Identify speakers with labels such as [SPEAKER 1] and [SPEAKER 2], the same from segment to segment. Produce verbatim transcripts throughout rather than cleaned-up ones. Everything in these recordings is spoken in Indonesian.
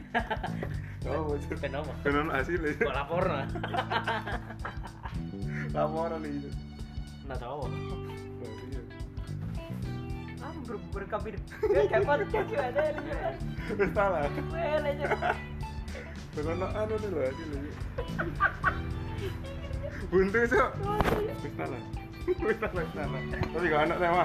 [SPEAKER 1] Oh, bocor.
[SPEAKER 2] Ben apa?
[SPEAKER 1] Ben ono hasilnya.
[SPEAKER 2] Kok laporna?
[SPEAKER 1] Laporan iki.
[SPEAKER 2] Nah, tahu.
[SPEAKER 1] Berarti ya.
[SPEAKER 3] Ah, ber berkabir. Dia dapat jadi ada ini.
[SPEAKER 1] Wis salah.
[SPEAKER 3] Well aja.
[SPEAKER 1] Ben ono anu nih lho hasilnya. Buntu sok. Wis salah. Wis salah, wis salah. Tapi gak anak tema.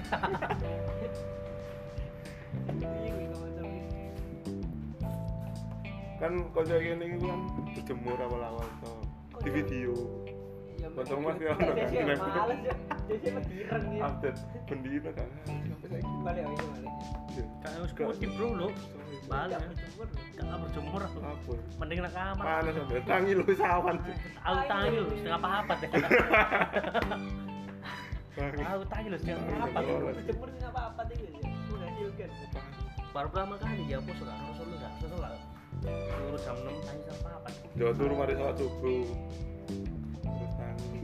[SPEAKER 1] Kan kocok ini kan berjemur awal-awal tuh di video. Betul mas ya,
[SPEAKER 3] Saya males ya. Jadi berdireng ya.
[SPEAKER 1] Update bendina kan. Sampai saya
[SPEAKER 3] Balik aja balik.
[SPEAKER 2] Kayak wis kutip bro lo. Balik. Enggak berjemur aku.
[SPEAKER 1] apa?
[SPEAKER 2] Mending nak kamar.
[SPEAKER 1] Mana sampai tangi lu sawan.
[SPEAKER 2] Aku tangi lho setengah papat ya. Aku tangi lho setengah papat.
[SPEAKER 3] Berjemur nggak apa-apa deh ya. Udah juga.
[SPEAKER 2] Baru pertama kali ya aku suka rasul lu enggak setelah. Turun jam enam tangi jam papat.
[SPEAKER 1] Jawa turun mari salat subuh. Terus tangi.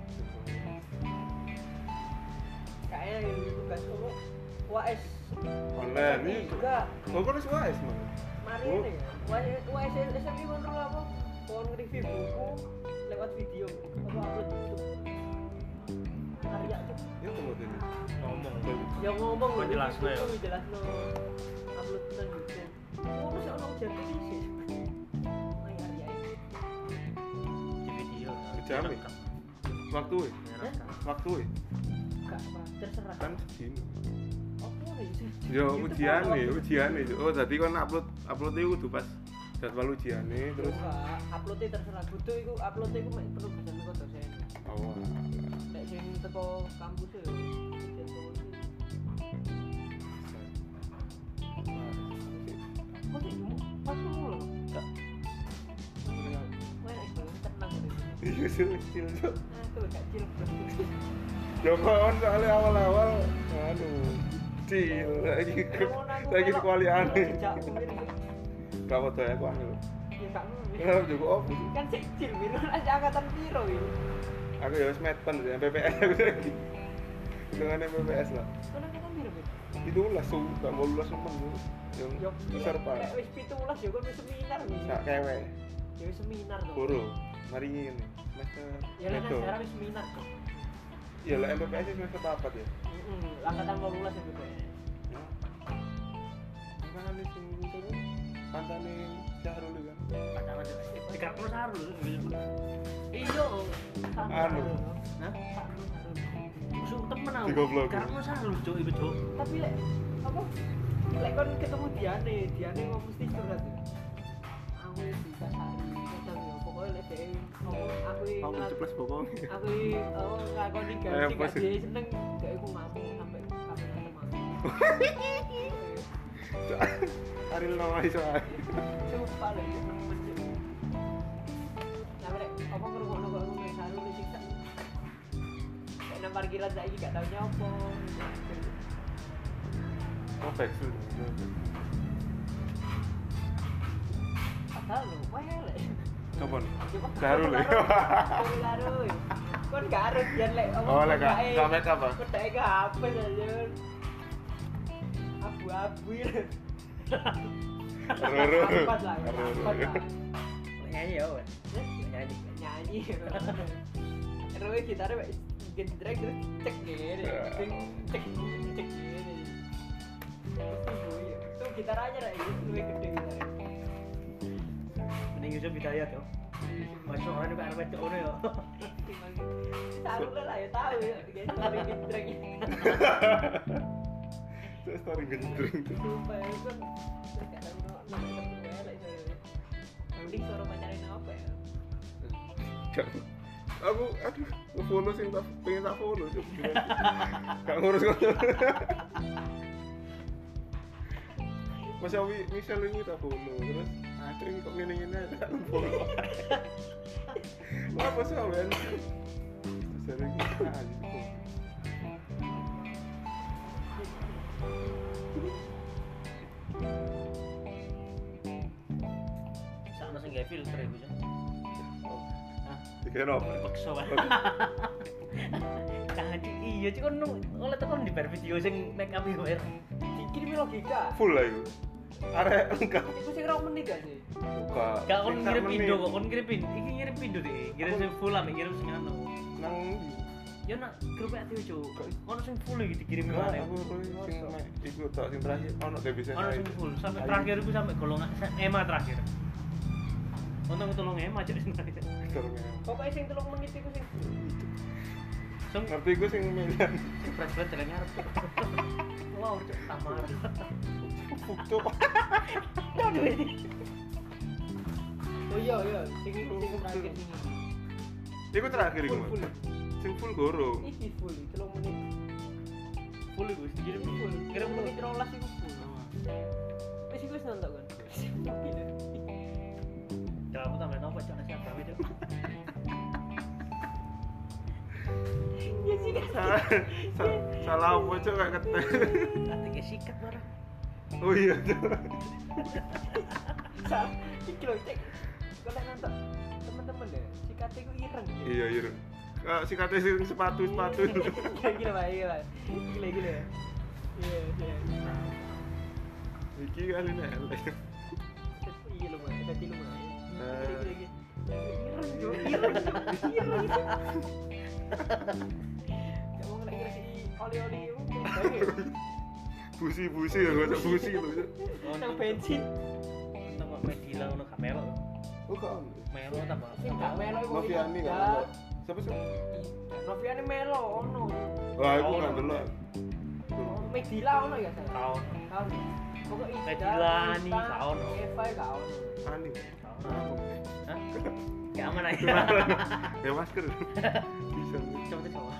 [SPEAKER 3] Kayaknya yang tugas dulu U A S
[SPEAKER 1] Online ini.
[SPEAKER 3] juga.
[SPEAKER 1] Kok kok U A S mah?
[SPEAKER 3] Mari ini U A S S M I kontrol apa? Kon review buku lewat video apa upload YouTube. Karya tuh.
[SPEAKER 1] Ya kamu ini.
[SPEAKER 2] Ngomong.
[SPEAKER 3] Ya ngomong
[SPEAKER 2] Kok jelasno ya?
[SPEAKER 3] Jelasno upload nang YouTube. Oh, mesti ono jadi sih. Main karya ini.
[SPEAKER 2] Di video.
[SPEAKER 1] Jam ya? Waktu ya? Waktu ya?
[SPEAKER 3] Enggak apa, terserah.
[SPEAKER 1] Kan segini.
[SPEAKER 3] Oke sih.
[SPEAKER 1] Yo ujian nih, ujian nih. Oh, jadi kan upload upload itu kudu pas jadwal ujian nih terus.
[SPEAKER 3] Enggak, uploadnya terserah. Butuh iku uploadnya iku mek perlu bisa kok dosen.
[SPEAKER 1] Oh.
[SPEAKER 3] Nek sing teko kampus yo. Kok sih pas mulu. Enggak. Wah, iku tenang gitu.
[SPEAKER 1] Iya sih kecil tuh.
[SPEAKER 3] Ah, tuh kecil.
[SPEAKER 1] Ya kan soalnya awal-awal anu cil lagi lagi sekualian. Gak foto ya aku anu.
[SPEAKER 3] Ya gak ngono.
[SPEAKER 1] Ya juga op.
[SPEAKER 3] Kan kecil biru aja angkatan piro iki.
[SPEAKER 1] Aku ya wis meten ya P P S aku lagi. Dengan M P P S lah.
[SPEAKER 3] Kan angkatan piro, Bit?
[SPEAKER 1] Itu lah su gak mau lulus temen lu. Yang
[SPEAKER 3] Yo
[SPEAKER 1] besar pak.
[SPEAKER 3] Nek wis tujuh belas yo kan wis seminar nih.
[SPEAKER 1] Sak kewe.
[SPEAKER 3] Ya wis seminar tuh.
[SPEAKER 1] Boro. Mari ngene. Semester.
[SPEAKER 3] Ya lah sekarang wis seminar tuh.
[SPEAKER 1] Ya lah M P P S semester papat ya.
[SPEAKER 3] Heeh, angkatan delapan belas ya, Bit.
[SPEAKER 1] Kan ada sing turun pantane Syahrul kan.
[SPEAKER 2] Pacaran aja. Dikak terus harus.
[SPEAKER 3] Iya.
[SPEAKER 1] Anu.
[SPEAKER 2] Hah?
[SPEAKER 3] Sarul, sarul.
[SPEAKER 2] Musuh temen aku.
[SPEAKER 1] Digoblok.
[SPEAKER 2] Dikak terus harus cuk iku cuk.
[SPEAKER 3] Tapi lek apa? Lek kon ketemu Diane, Diane mau mesti curhat. Aku bisa sari kadang yo pokoknya lek dhewe ngomong aku iki
[SPEAKER 1] Aku ceples bokong.
[SPEAKER 3] aku iki oh ngakoni
[SPEAKER 1] Eh,
[SPEAKER 3] ganti
[SPEAKER 1] pas-
[SPEAKER 3] gak dia seneng dhewe ku ngomong sampai sampai ketemu.
[SPEAKER 1] Aril nama iso ae.
[SPEAKER 3] Sumpah lek nemen yo. Nah, lek apa ngrungokno kok ngono sarul disiksa. Lek nang parkiran saiki gak tau nyopo.
[SPEAKER 1] Oh, backsu.
[SPEAKER 3] Padahal lho, welek.
[SPEAKER 1] Coba.
[SPEAKER 3] Coba
[SPEAKER 1] Syahrul ya.
[SPEAKER 3] Syahrul. Kon gak harus jan lek apa.
[SPEAKER 1] Oh, lek gak gak make up ah.
[SPEAKER 3] Pedake ke H P aja. Abu-abu ya.
[SPEAKER 1] Roro.
[SPEAKER 3] Empat lah, empat lah.
[SPEAKER 2] Nyanyi ya, wes.
[SPEAKER 3] Nyanyi, nyanyi. Terus gitarnya wes gendrek terus cek gini, cek cek cek gini. Itu gitar aja lah, itu lebih gede gitarnya.
[SPEAKER 2] Mending Yusuf Hidayat yo. Masuk orang juga arep ngono yo.
[SPEAKER 3] Tahu lah ya tahu ya, gitu lebih gendrek.
[SPEAKER 1] Itu story gendring tuh.
[SPEAKER 3] Sumpah ya kan terus gak tahu no no welek itu. Mending suara pacarin apa ya?
[SPEAKER 1] Jangan. Aku aduh nge-follow sing tak pengen tak follow cuk. Gak ngurus ngono. Mas Awi Michelle ini tak follow terus aduh ini kok ngene-ngene tak follow. Apa sih awen? Sering kita aja.
[SPEAKER 2] Sakno sing gawe filter iku cuk. Hah?
[SPEAKER 1] Dikira apa?
[SPEAKER 2] Paksa wae. Jangan iya cuk kon oleh tekan di bar video sing make up iku.
[SPEAKER 3] Dikirimi logika.
[SPEAKER 1] Full lah itu. Arek enggak.
[SPEAKER 3] Iku sing rong menit gak sih?
[SPEAKER 1] Buka.
[SPEAKER 2] Gak kon
[SPEAKER 1] Sing
[SPEAKER 2] ngirim
[SPEAKER 1] sak
[SPEAKER 2] Indo
[SPEAKER 1] menit.
[SPEAKER 2] kok, kon ngirim Indo. Iki ngirim Indo deh. Ngirim sing full ambek ngirim sing anu.
[SPEAKER 1] Nang
[SPEAKER 2] Ya nak grup aktif cuk. Ono sing full iki dikirim
[SPEAKER 1] Enggak,
[SPEAKER 2] mana?
[SPEAKER 1] aku aku sing mek iku tok sing terakhir ono deh bisa.
[SPEAKER 2] Ono sing full sampai terakhir iku sampai golongan Ema terakhir. Untung ketulung Ema cuk sing terakhir.
[SPEAKER 3] Pokoknya sing telung menit iku sing
[SPEAKER 2] Sing
[SPEAKER 1] Ngerti gue sing milian.
[SPEAKER 2] sing berat-berat jalan ngarep. Wow, cuk tamar.
[SPEAKER 1] Bukto.
[SPEAKER 2] Aduh ini.
[SPEAKER 3] Oh iya iya, sing iku sing terakhir sing iki.
[SPEAKER 1] Iku terakhir iku.
[SPEAKER 3] Full, full.
[SPEAKER 1] Sing full goro.
[SPEAKER 3] Iki full, telung menit.
[SPEAKER 2] Full iku wis dikirim
[SPEAKER 3] Full,
[SPEAKER 2] full.
[SPEAKER 3] kirim
[SPEAKER 2] Kirim
[SPEAKER 3] menit rolas iku full. Wis iku wis nonton kan.
[SPEAKER 2] Kamu tambah nopo cuk nasi apa cuk.
[SPEAKER 3] Ya sih kan.
[SPEAKER 1] Salah sa- salah apa cok gak ketek.
[SPEAKER 2] Nanti kayak sikat marah.
[SPEAKER 1] Oh iya cok.
[SPEAKER 3] Sa, iki lho cek. Kok lek nonton teman-teman deh, sikate iku ireng.
[SPEAKER 1] Iya iya. Kak si kate sing sepatu-sepatu.
[SPEAKER 3] Gila Pak, gila. Gila gila. Iya, iya.
[SPEAKER 1] Iki kali nek elek.
[SPEAKER 3] Iya lho, Mas. Dadi lumayan.
[SPEAKER 1] Nah.
[SPEAKER 3] Gila gila. Ireng, Cuk. Ireng. Ireng. Kayak mau lagi si oli-oli itu.
[SPEAKER 1] Busi-busi ya gak busi lho. Cok.
[SPEAKER 3] Nang bensin.
[SPEAKER 2] Tambah medila ono gak melo.
[SPEAKER 1] Oh gak ono.
[SPEAKER 2] Melo tambah.
[SPEAKER 3] Sing gak melo iku.
[SPEAKER 1] Noviani gak ono. Siapa sih?
[SPEAKER 3] Noviani melo ono.
[SPEAKER 1] Wah, aku gak delok.
[SPEAKER 3] Medila ono ya, saya.
[SPEAKER 2] Tahun.
[SPEAKER 3] Tahun. Pokoknya
[SPEAKER 2] Medila, Ani, gak ono.
[SPEAKER 3] Eva gak ono.
[SPEAKER 1] Ani.
[SPEAKER 2] Tahun. Hah? Kayak aman aja.
[SPEAKER 1] Ya masker. Bisa.
[SPEAKER 2] Coba coba.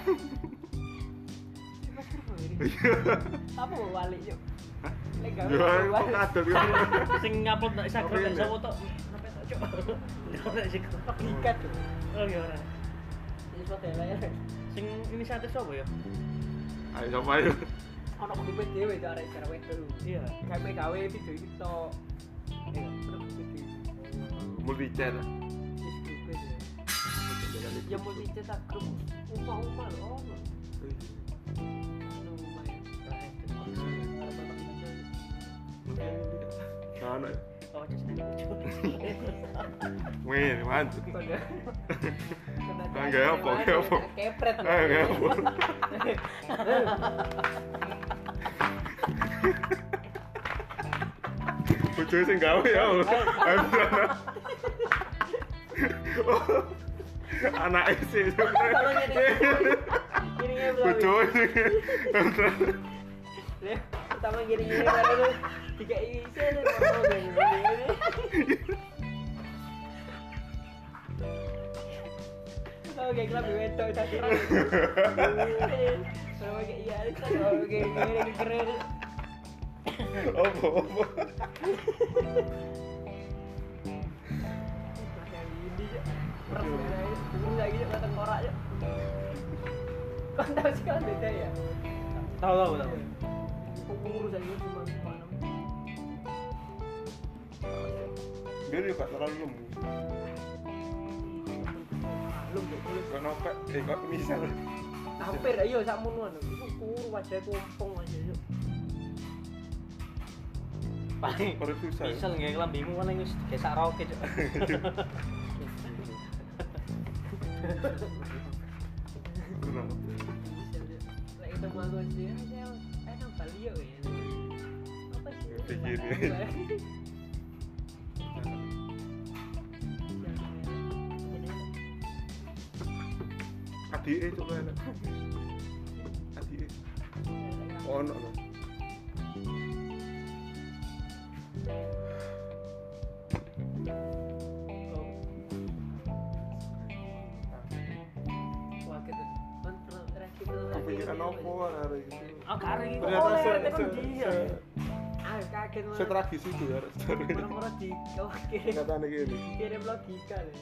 [SPEAKER 3] Masker kok ini. Apa mau balik yuk? Lek gawe
[SPEAKER 1] Ya, kok
[SPEAKER 3] balik.
[SPEAKER 1] kadal ya.
[SPEAKER 2] Sing ngupload nang Instagram
[SPEAKER 1] Oke,
[SPEAKER 2] nek sapa tok. Sampai tok cuk. Nek sing
[SPEAKER 3] Logika tuh.
[SPEAKER 2] Oh iya ora.
[SPEAKER 3] Ini suatu ya.
[SPEAKER 2] Sing inisiatif sapa ya?
[SPEAKER 1] Ayo sama ayo.
[SPEAKER 3] Ono klipet dhewe to arek cara wedok.
[SPEAKER 2] Iya.
[SPEAKER 3] Gawe gawe video iki tok. Iya, ono klipet.
[SPEAKER 1] Multi chat.
[SPEAKER 3] Wis klipet ya. Ya mau dicetak grup umah-umah lho ono. Anu umah ya.
[SPEAKER 1] Sana.
[SPEAKER 2] Oh, just nek cuk.
[SPEAKER 1] Wih, mantap.
[SPEAKER 3] Kode.
[SPEAKER 1] Ah, gak apa, gak apa.
[SPEAKER 3] Kepret.
[SPEAKER 1] Ah, gak apa. Bojo sing gawe ya. Anak sih.
[SPEAKER 3] Gini ya belum.
[SPEAKER 1] Bojo sing.
[SPEAKER 3] Pertama gini-gini baru tiga isi aja ngomong gini-gini. Oh, kayak kelab wedok tadi. Kalau kayak iya, kalau kayak gini keren.
[SPEAKER 1] Apa apa.
[SPEAKER 3] Kayak gini aja. Ini lagi aja kata korak aja. Kau tahu sih kan beda ya?
[SPEAKER 2] Tahu tahu tahu.
[SPEAKER 3] Pengurus aja cuma mana?
[SPEAKER 1] Dia juga terlalu lemu.
[SPEAKER 3] Belum deh, belum.
[SPEAKER 1] Kok nopek, eh kok misal.
[SPEAKER 3] Hampir ayo sak mono iku kuru wajah kompong aja yuk.
[SPEAKER 2] Paling
[SPEAKER 1] Perut susah.
[SPEAKER 2] misal nggak kelambimu kan yang gesak roket cuk.
[SPEAKER 1] Kenapa?
[SPEAKER 3] Lek ketemu aku sih, saya eh nang Bali yuk ya. Apa sih?
[SPEAKER 1] Begini. Adike coba enak. Adike. Ono lho. Kepikiran apa hari itu?
[SPEAKER 2] Ah kare iki.
[SPEAKER 1] Ternyata
[SPEAKER 3] Oh,
[SPEAKER 1] se
[SPEAKER 3] lewat
[SPEAKER 1] se
[SPEAKER 3] dia.
[SPEAKER 1] se-
[SPEAKER 3] Ah kaget mah.
[SPEAKER 1] setragis itu ya.
[SPEAKER 3] Murah-murah di kau kirim
[SPEAKER 1] Katanya gini.
[SPEAKER 3] kirim logika deh.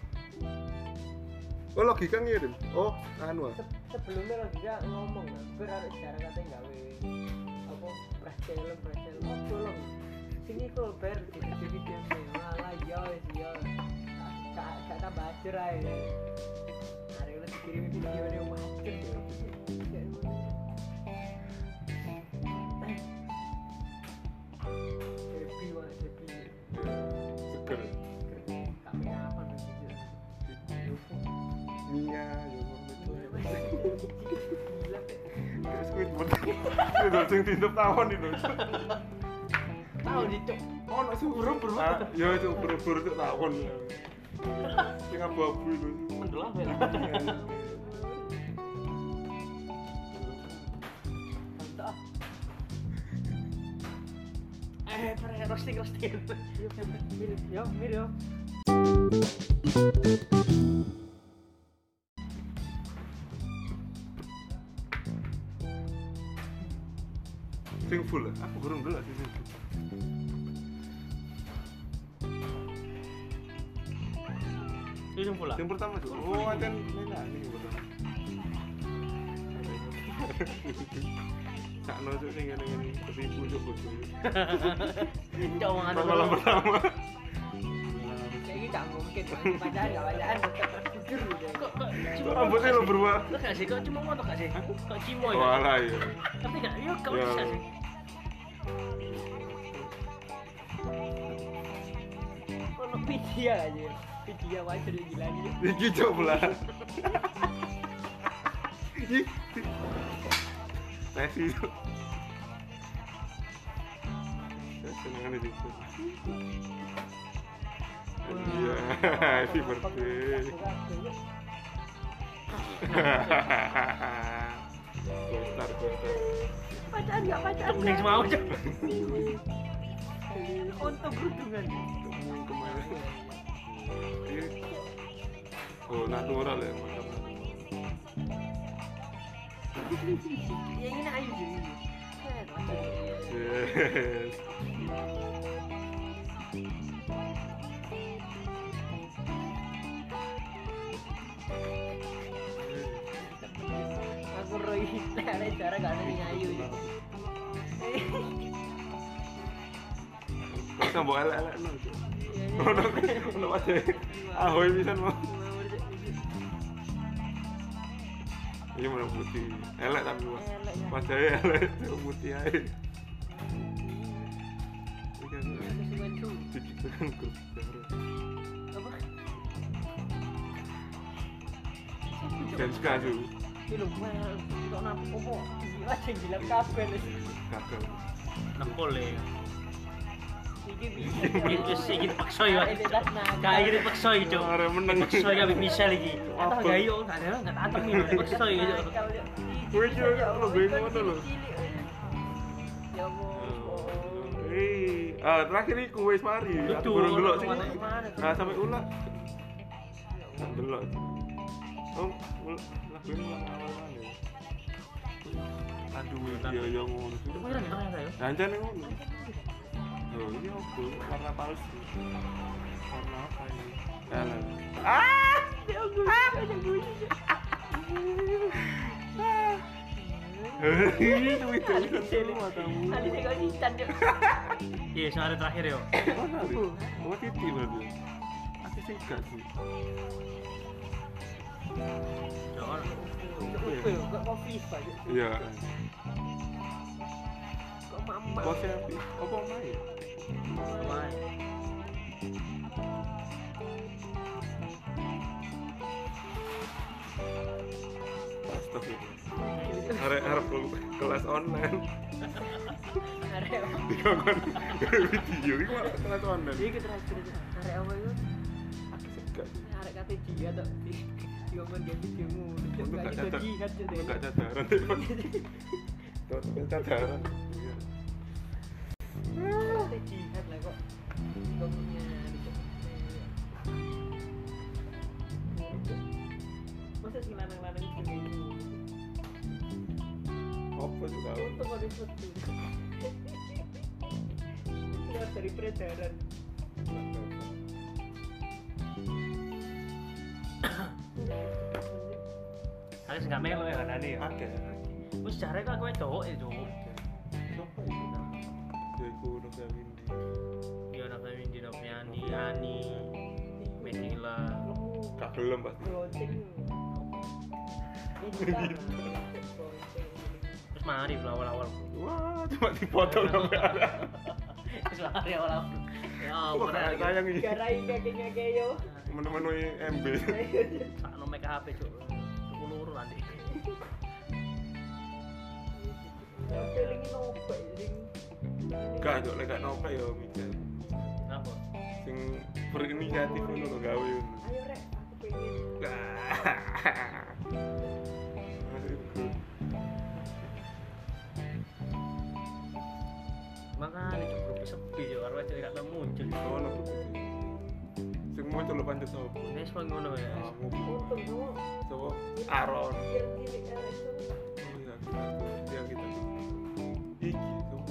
[SPEAKER 1] Oh logika ngirim. Oh anu. ah.
[SPEAKER 3] Se- Sebelumnya logika ngomong lah, ber harus cara katanya gawe apa pracel pracel oh tolong sini kok ber di di video malah ya wis ya gak gak tambah ajar ae. Hari ini dikirim video ini macet ya.
[SPEAKER 1] Mia yo ngono itu.
[SPEAKER 3] Gila Pak.
[SPEAKER 1] Squidward. Itu sing ditutup tawon itu.
[SPEAKER 3] Tahu dicuk.
[SPEAKER 1] Ono sing ubur-ubur. Ah, ya itu ubur-ubur itu tawon. Sing abu-abu itu.
[SPEAKER 2] Mendelap ya.
[SPEAKER 3] Mantap.
[SPEAKER 2] Eh, pare roasting roasting.
[SPEAKER 3] Yuk, mir, yo, mir yo.
[SPEAKER 1] Sing full lah. Aku kurang dulu sih sing full.
[SPEAKER 2] Itu yang pula.
[SPEAKER 1] Yang pertama tuh. Oh, acan mana ini yang pertama. Sakno tuh sing ngene-ngene ketipu cuk bodoh.
[SPEAKER 2] Cowok anu.
[SPEAKER 1] Malam pertama.
[SPEAKER 3] Kayak gitu tak mungkin. Pacaran enggak pacaran. Jujur gitu.
[SPEAKER 2] Kok kok
[SPEAKER 1] Kok rambutnya lo berubah?
[SPEAKER 2] Lo gak sih? Kok cuma ngono gak sih? Kok cimo ya?
[SPEAKER 1] Walah ya.
[SPEAKER 2] Tapi gak, yo kok
[SPEAKER 1] Ya.
[SPEAKER 2] bisa sih?
[SPEAKER 3] Ono video aja. Video wajar gila nih.
[SPEAKER 1] Iki coba lah. Ih. Messi itu. Ya seneng aja itu. Iya, happy birthday. Gostar, gostar.
[SPEAKER 3] Pacaran enggak pacaran.
[SPEAKER 2] Mending mau aja.
[SPEAKER 3] Untuk beruntungan.
[SPEAKER 1] Ketemu kemarin. Iya. Oh, natural ya, mantap.
[SPEAKER 3] Ya ini ayu sih.
[SPEAKER 1] Yes.
[SPEAKER 3] Aku roy ada cara gak ada yang ayu.
[SPEAKER 1] Masa bawa elek-elek no. Ono ono aja. Ahoy pisan mau. Ini mana putih. Elek tapi Mas. Wajahnya elek, putih aja. Ini kan dikirim grup baru. Dan sekali
[SPEAKER 3] Ini lho, kok napa opo? Aja gila kabeh.
[SPEAKER 1] gagal.
[SPEAKER 2] Nempol ya.
[SPEAKER 3] Iki bisa.
[SPEAKER 2] Iki iki dipaksa ya.
[SPEAKER 3] Identitas naga.
[SPEAKER 2] Kayak iki dipaksa iki, Cuk.
[SPEAKER 1] Are meneng.
[SPEAKER 2] Dipaksa ya Michelle iki.
[SPEAKER 1] Apa?
[SPEAKER 2] Atau gak yo gak ada gak tantem iki dipaksa iki.
[SPEAKER 1] Kowe iki lo bingung ngono lho.
[SPEAKER 3] Ya Allah.
[SPEAKER 1] Eh, ah terakhir iku wis mari. Aku baru delok sing. Nah, sampai ulah. Delok. Oh, lagu ini ulang awal mana? Aduh, iya iya ngono.
[SPEAKER 2] Itu beneran ya ternyata ya.
[SPEAKER 1] Jangan ngono. Oh, ini apa? Warna palsu. Warna apa ini? Jalan. Ah!
[SPEAKER 3] Ya Allah. Ah, yang gue.
[SPEAKER 1] Hei, itu itu itu semua tamu.
[SPEAKER 3] Tadi saya kau cincang dia.
[SPEAKER 2] Iya, sing hari terakhir yo.
[SPEAKER 1] Mana? Oh, titi berarti. Aku sih gak sih.
[SPEAKER 2] Jangan.
[SPEAKER 3] Kok kopi Pak?
[SPEAKER 1] Iya.
[SPEAKER 3] Kok mama?
[SPEAKER 1] Bosnya apa main?
[SPEAKER 2] Main.
[SPEAKER 1] Astagfirullah. Arek-arek kelas online.
[SPEAKER 3] Arek.
[SPEAKER 1] Dikongkon video iki malah kelas online.
[SPEAKER 3] Iki terakhir arek apa itu?
[SPEAKER 1] Aku segak.
[SPEAKER 3] Arek kate dia tok. Dikongkon game videomu.
[SPEAKER 1] Untuk gak catat.
[SPEAKER 3] Jihad tuh.
[SPEAKER 1] Untuk gak cadaran. Tuh, tuh cadaran. Iya.
[SPEAKER 3] Kate jihad lah kok. Dikongkonnya masa sih lanang-lanang begini?
[SPEAKER 1] Apa tuh kau?
[SPEAKER 3] Untung ada foto. Keluar dari peredaran.
[SPEAKER 2] Aku sing gak melo ya kan ani ya.
[SPEAKER 1] Oke.
[SPEAKER 2] Wis jare kok kowe cowok ya, Cuk.
[SPEAKER 1] Siapa itu? Ya iku Novia Windy.
[SPEAKER 2] Yo Nova Windy, Noviani, Ani, Menila.
[SPEAKER 1] Gak gelem pasti.
[SPEAKER 3] Lonceng.
[SPEAKER 2] Terus mari awal-awal.
[SPEAKER 1] Wah, cuma dipotong sampai ada.
[SPEAKER 2] Terus mari awal-awal. Ya,
[SPEAKER 1] Wah,
[SPEAKER 2] bener.
[SPEAKER 1] sayang ini.
[SPEAKER 3] Garai kakinya kayo.
[SPEAKER 1] Menemui M B.
[SPEAKER 2] Sakno make kabeh cuk. Tuku loro nanti.
[SPEAKER 3] Feeling ini nopek sing
[SPEAKER 1] Gak cok lek gak nopek ya mikir.
[SPEAKER 2] Apa?
[SPEAKER 1] Sing berinisiatif ngono lho gawe ngono.
[SPEAKER 3] ayo rek aku pengen
[SPEAKER 2] Makanya cuk grup sepi cuk karo aja gak tau muncul.
[SPEAKER 1] Oh, lho. Sing muncul lho pancet sapa?
[SPEAKER 2] Wis kok ngono ya.
[SPEAKER 1] Kamu
[SPEAKER 3] untung semua
[SPEAKER 1] sapa? Aron.
[SPEAKER 3] kiri-kiri arek itu
[SPEAKER 1] Oh iya, kita dia kita iki sapa?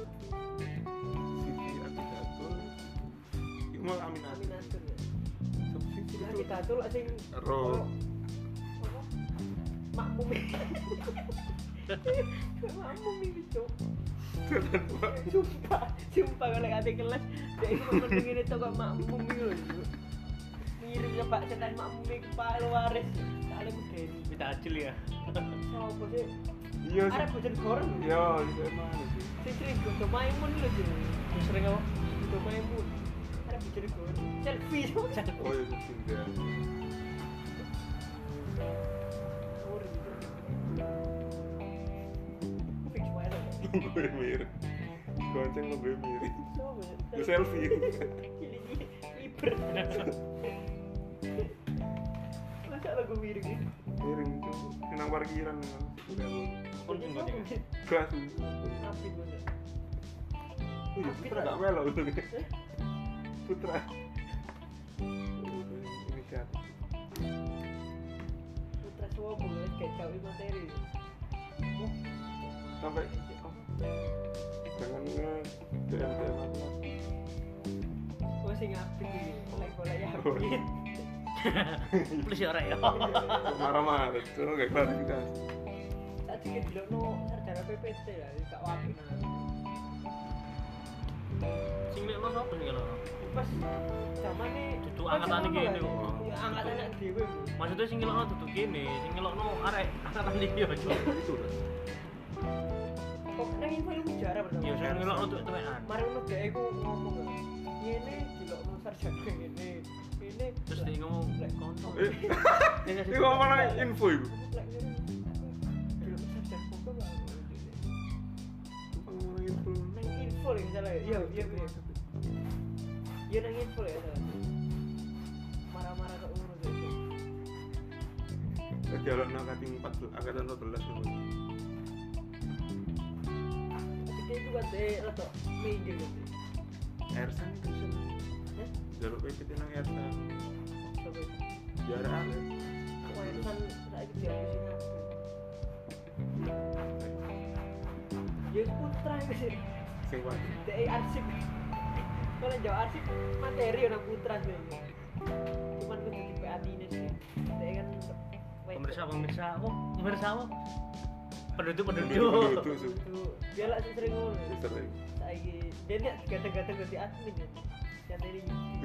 [SPEAKER 1] Siti Abidatul. Iku mau Aminah.
[SPEAKER 3] Aminatur ya
[SPEAKER 1] Sapa sih
[SPEAKER 3] kita
[SPEAKER 1] itu?
[SPEAKER 3] kita tuh sing
[SPEAKER 1] Ro.
[SPEAKER 3] apa makmum makmum itu cuk sumpah sumpah kalau ada kelas dia itu mending ini toko makmum itu loh Cuk. Mirip ya Pak setan makmum itu Pak Luares kali ku Deni
[SPEAKER 2] Minta acil ya.
[SPEAKER 3] sopo sih
[SPEAKER 1] Iya sih.
[SPEAKER 3] arek boten goreng
[SPEAKER 1] Iya, itu emang sih.
[SPEAKER 3] sing sering godo maimun lho Cuk
[SPEAKER 2] Terus sering apa?
[SPEAKER 3] godo maimun arek boten goreng selfie Cuk selfie
[SPEAKER 1] Oh iya, sih dia.
[SPEAKER 3] goreng fix wae lho
[SPEAKER 1] Gue mirip. Gonceng lo gue mirip.
[SPEAKER 3] sopo
[SPEAKER 1] Gue selfie.
[SPEAKER 3] ini liber masa lagu miring ini
[SPEAKER 1] Miring itu nang parkiran nang.
[SPEAKER 2] Pun enggak ding.
[SPEAKER 1] Gas.
[SPEAKER 3] api bener
[SPEAKER 1] Oh iya, Putra gak melo itu. Putra. Ini kan.
[SPEAKER 3] putra semua boleh kayak jauh materi oh
[SPEAKER 1] Sampai oh, jangan nge D M D M aku.
[SPEAKER 3] oh sing apik iki golek-golek ya
[SPEAKER 1] Oh.
[SPEAKER 3] apik
[SPEAKER 2] Plus ya ora ya.
[SPEAKER 1] Marah-marah itu gak klarifikasi.
[SPEAKER 3] saat iki delokno sarjana P P T ya gak apik
[SPEAKER 2] Sing lekno sapa sing lekno?
[SPEAKER 3] pas zamane
[SPEAKER 2] Dudu angkatan iki ini kok.
[SPEAKER 3] ya angkatan anak dhewe
[SPEAKER 2] Maksudnya sing ngelokno dudu kene, sing ngelokno arek angkatan iki ya cuk.
[SPEAKER 1] Itu lah.
[SPEAKER 3] kok nang info ilmu sejarah pertama
[SPEAKER 2] Ya sing ngelokno tuh temenan.
[SPEAKER 3] mari ngono dhek iku ngomong ngene dilokno sarjana ngene ngene
[SPEAKER 2] Terus dia ngomong kontol.
[SPEAKER 1] Eh, ini ngomong nang info itu.
[SPEAKER 3] lek ngene dilokno sarjana kok gak
[SPEAKER 1] Ngomong info.
[SPEAKER 3] nang info lho misalnya iya iya iya iya nang info ya salah marah-marah kok ngono gitu
[SPEAKER 1] Jalan nang kating empat belas angkatan empat belas itu.
[SPEAKER 3] tapi itu kan deh rada minggir gitu
[SPEAKER 1] Ersan itu sih.
[SPEAKER 3] Hah?
[SPEAKER 1] Jalur P P T nang Ersan.
[SPEAKER 3] coba
[SPEAKER 1] Jarak ada.
[SPEAKER 3] aku erusan saiki dia sing ya putra itu sih
[SPEAKER 1] Sing wae.
[SPEAKER 3] dek arsip kalau jauh arsip materi orang putra sih cuman kudu di P A T ini sih dek kan
[SPEAKER 2] Pemirsa pemirsa apa? Pemirsa apa? Penduduk penduduk.
[SPEAKER 1] Itu sih.
[SPEAKER 3] itu dia lah sih sering ngono
[SPEAKER 1] Sering.
[SPEAKER 3] saiki dia nek gata-gata ganti admin ya yang ini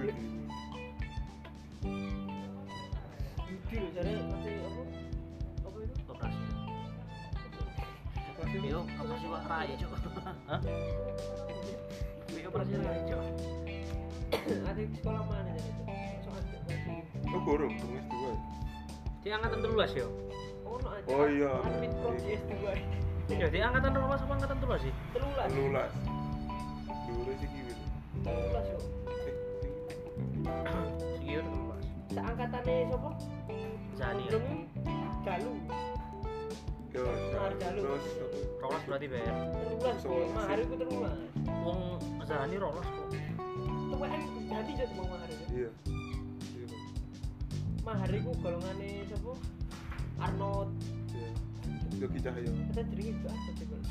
[SPEAKER 3] Yudi loh jare pasti apa apa itu
[SPEAKER 2] Operasi.
[SPEAKER 1] Apa sih?
[SPEAKER 2] Yo, apa sih Pak Rai cuk? Hah? Yo operasi Rai cuk.
[SPEAKER 3] ada di sekolah mana jadi itu soalnya masih
[SPEAKER 1] Oh, gorong, gorong S dua.
[SPEAKER 2] Di angkatan telulas yo.
[SPEAKER 3] oh no aja
[SPEAKER 1] Oh iya.
[SPEAKER 3] admin prodi S dua
[SPEAKER 2] Ya di angkatan telulas apa angkatan telulas sih?
[SPEAKER 3] telulas
[SPEAKER 1] Lulas. Dulu sih gitu.
[SPEAKER 3] telulas yo
[SPEAKER 2] Sing yo telulas.
[SPEAKER 3] seangkatannya siapa
[SPEAKER 2] Zani.
[SPEAKER 3] Gondrong Jalu
[SPEAKER 1] Yo,
[SPEAKER 3] Mahar Jalu.
[SPEAKER 1] terus
[SPEAKER 2] Rolas berarti ber.
[SPEAKER 3] telulas kok mahar itu telulas
[SPEAKER 2] Wong Zani rolas kok.
[SPEAKER 3] tuh kan ganti jadi mau mahar itu
[SPEAKER 1] iya. Iya.
[SPEAKER 3] mahar itu golongannya siapa Arnold
[SPEAKER 1] Iya. Yogi Cahyo.
[SPEAKER 3] kita jadi itu apa sih kalau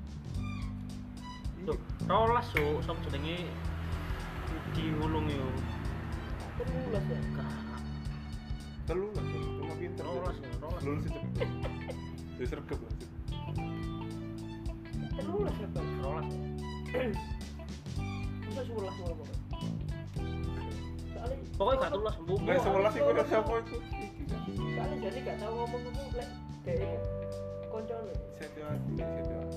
[SPEAKER 2] Loh, rolas so, sok jenenge dihulung yo.
[SPEAKER 3] telulas ya
[SPEAKER 2] Gak.
[SPEAKER 1] Telulas, cuma pinter.
[SPEAKER 2] Rolas ya, rolas.
[SPEAKER 1] Lulus itu. Jadi sergap lah.
[SPEAKER 3] telulas ya bang
[SPEAKER 2] Rolas.
[SPEAKER 3] masa sebelas malah pokoknya soalnya
[SPEAKER 2] Pokoknya gak telulas, Bu.
[SPEAKER 1] Nah, sebelas itu udah siapa itu?
[SPEAKER 3] soalnya jadi gak tahu ngomong-ngomong lek dek itu koncone
[SPEAKER 1] Setio Adi, Setio Adi.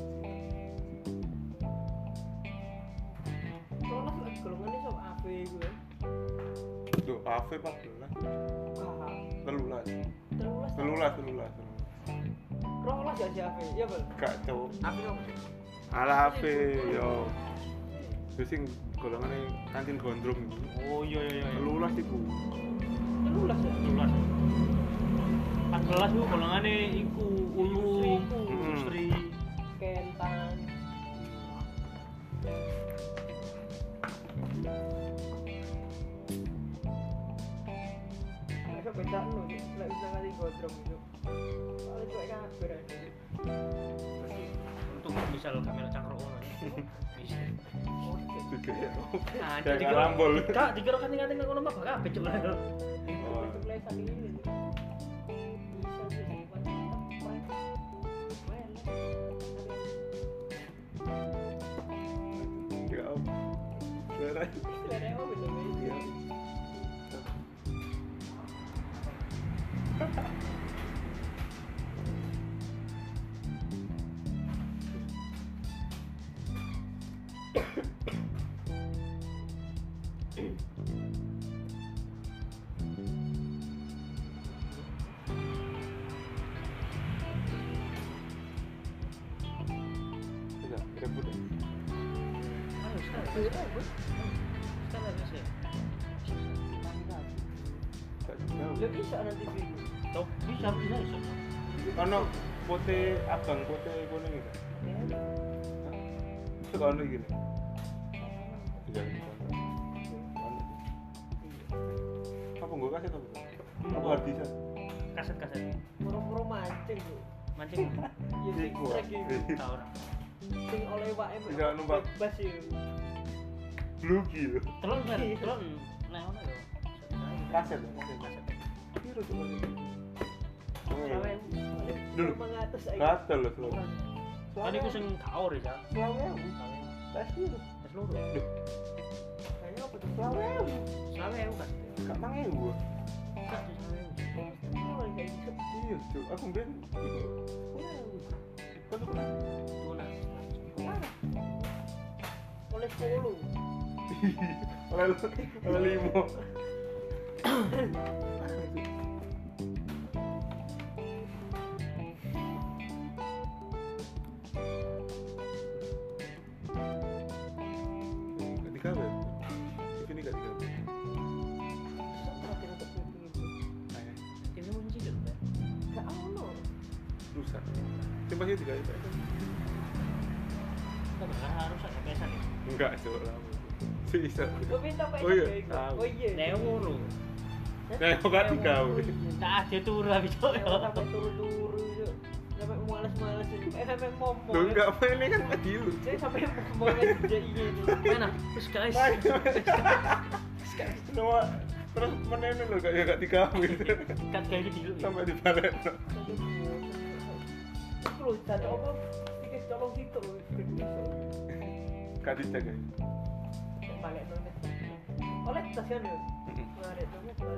[SPEAKER 3] telulas lagi golongannya sama A V gue
[SPEAKER 1] Duh, A V empat belas.
[SPEAKER 3] wah
[SPEAKER 1] Telulas. telulas telulas
[SPEAKER 3] Rolas ya si Ave. Iya, Bel.
[SPEAKER 1] gak cowok
[SPEAKER 2] Tapi dong.
[SPEAKER 1] ala H P yo wis sing golongane kantin gondrong iku
[SPEAKER 2] Oh iya iya iya.
[SPEAKER 1] telulas iku
[SPEAKER 3] Rolas ya.
[SPEAKER 2] Telulas. empat belas itu golongannya iku Ulu
[SPEAKER 3] Iku.
[SPEAKER 2] industri.
[SPEAKER 3] Kentan. Nek beda no, lek bisa kali godrong itu. Paling cuek kabeh ra.
[SPEAKER 2] Berarti untuk misal kamera cangkruk ngono ya. Bisa.
[SPEAKER 3] Oh,
[SPEAKER 1] juga ya
[SPEAKER 2] Nah,
[SPEAKER 1] kayak
[SPEAKER 2] dikira
[SPEAKER 1] karambol
[SPEAKER 2] Kak, dikira kanting-kanting ngono mah kabeh cuk.
[SPEAKER 1] oh
[SPEAKER 3] itu mulai saat ini. Bisa sih bukan keren. Well.
[SPEAKER 1] ya om beneran
[SPEAKER 3] Selera apa gitu
[SPEAKER 1] iya Bisa, rebut ya?
[SPEAKER 2] Ayo sekarang.
[SPEAKER 3] Selera
[SPEAKER 2] Sekarang bisa.
[SPEAKER 1] Gak jauh.
[SPEAKER 3] Ya bisa nanti video.
[SPEAKER 2] Tuh, bisa bisa bisa.
[SPEAKER 1] Ono putih abang putih kuning itu. Itu ono gini. Iya, ono. Apa nggak kasih tuh? Apa hard disk?
[SPEAKER 2] Kaset-kaset.
[SPEAKER 3] Puro-puro mancing bu.
[SPEAKER 2] Mancing.
[SPEAKER 3] Ya sing
[SPEAKER 1] Iku.
[SPEAKER 3] trek iki.
[SPEAKER 2] Tahu ora.
[SPEAKER 3] Sing oleh wae.
[SPEAKER 1] Bisa numpak.
[SPEAKER 3] Bebas ya.
[SPEAKER 1] Blugi lho.
[SPEAKER 2] Telon kan, telon. Nah, ono yo.
[SPEAKER 1] Kaset, kaset.
[SPEAKER 2] Kaset.
[SPEAKER 1] Piro coba ini?
[SPEAKER 3] Sawe.
[SPEAKER 1] Dulu.
[SPEAKER 3] Mengatus aja.
[SPEAKER 1] Gatel lho, Bro.
[SPEAKER 2] Kan iku sing kaur ya, Cak.
[SPEAKER 1] Selawe. Tes dulu.
[SPEAKER 2] Wis loro.
[SPEAKER 3] Kayaknya apa tuh?
[SPEAKER 1] Selawe.
[SPEAKER 2] Sawe aku kan.
[SPEAKER 1] Gak mangewu.
[SPEAKER 2] Enggak sih sawe.
[SPEAKER 3] Oh, kayak gitu.
[SPEAKER 1] Iya, Cuk. Aku ben iku. Kan tuh pernah.
[SPEAKER 2] Tuna.
[SPEAKER 3] Oleh sepuluh.
[SPEAKER 1] Oleh oleh limo. Gak dikawin. Ini gak dikawin.
[SPEAKER 3] Sempat kita untuk gitu.
[SPEAKER 1] Ayah,
[SPEAKER 2] Ini munci kan, Pak.
[SPEAKER 3] Gak ono.
[SPEAKER 1] rusak. Coba sih dikawin.
[SPEAKER 2] Kita bakal harus ada pesan ya.
[SPEAKER 1] Enggak, Cuk. Lama. Bisa.
[SPEAKER 3] Gue minta apa
[SPEAKER 1] Oh iya,
[SPEAKER 3] ya?
[SPEAKER 1] tahu.
[SPEAKER 3] Oh iya.
[SPEAKER 2] Nek ngono.
[SPEAKER 1] Nah, kok gak dikawin?
[SPEAKER 2] Tak ada turu habis cok.
[SPEAKER 3] Sampai turu-turu itu. Sampai males-males itu. Eh sampai momong.
[SPEAKER 1] Loh, enggak apa ini kan adilu.
[SPEAKER 3] Saya sampai momong aja ini.
[SPEAKER 2] Mana? Terus guys.
[SPEAKER 1] Semua terus menene lho kayak gak dikawin.
[SPEAKER 2] Kat kayak gitu.
[SPEAKER 1] Sampai dibalik.
[SPEAKER 3] Itu loh, satu apa? Tiket colong situ loh.
[SPEAKER 1] Gak dicek ya.
[SPEAKER 3] Balik nonton. Oleh tas kan ya? Ngaret nonton.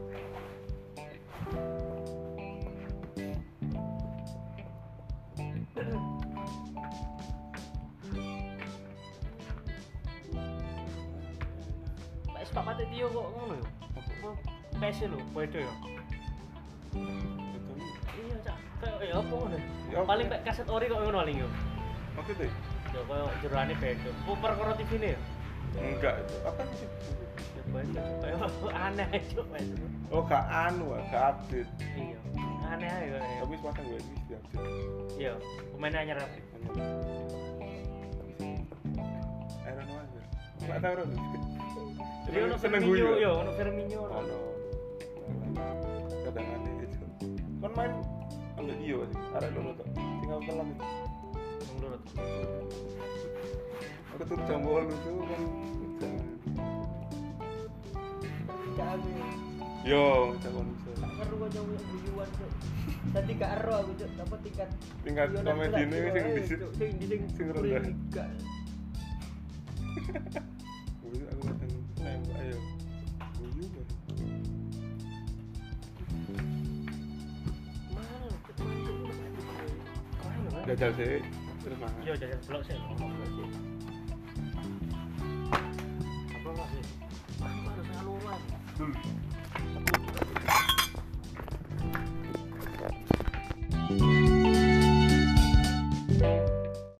[SPEAKER 2] Pak Pak Mate Tio kok ngono ya? P C lho, beda ya. Iya, Cak. Kayak ya apa ngono?
[SPEAKER 1] Ya,
[SPEAKER 2] Paling
[SPEAKER 1] apa?
[SPEAKER 2] pek kaset ori kok ngono paling yo.
[SPEAKER 1] Oke deh.
[SPEAKER 2] Ya koyo jerone beda. Ku perkara T V ne ya.
[SPEAKER 1] Enggak, itu apa sih?
[SPEAKER 2] Ya beda kayak aneh cuk.
[SPEAKER 1] Oh, gak anu, ah, gak update.
[SPEAKER 2] Iya. Aneh ae kok.
[SPEAKER 1] Tapi sepasang gue ini di update.
[SPEAKER 2] Iya, pemainnya anyar apa?
[SPEAKER 1] Iron Man. Enggak tahu dong.
[SPEAKER 2] Jadi ono Firmino yo, ono Firmino.
[SPEAKER 1] Ono. Kadang aneh itu. Kan main ambil dia sih. Arek loro tok. Tinggal kelam itu.
[SPEAKER 2] Menurut.
[SPEAKER 1] Aku tuh jam bolu tuh kan.
[SPEAKER 3] Gak aku ya.
[SPEAKER 1] Yo, calon bisa.
[SPEAKER 3] Gak ngeru aja punya guyuan tuh. Tadi gak ero aku tuh. Dapat tingkat.
[SPEAKER 1] Tingkat
[SPEAKER 3] guyonan
[SPEAKER 1] komedi
[SPEAKER 3] berat,
[SPEAKER 1] ini
[SPEAKER 3] tuh,
[SPEAKER 1] sing
[SPEAKER 3] eh,
[SPEAKER 1] di
[SPEAKER 3] Cuk. Sing di sing
[SPEAKER 1] sing
[SPEAKER 3] buri
[SPEAKER 1] rendah.
[SPEAKER 3] gak.
[SPEAKER 1] Wih, aku kadang nembak ayo. Guyu kan.
[SPEAKER 3] Mana loh? Keren loh.
[SPEAKER 1] Jajal sih. Terus mangan.
[SPEAKER 2] Yo jajan blok sih. Apa lagi? Aku harus ngaluan.
[SPEAKER 1] Dulu.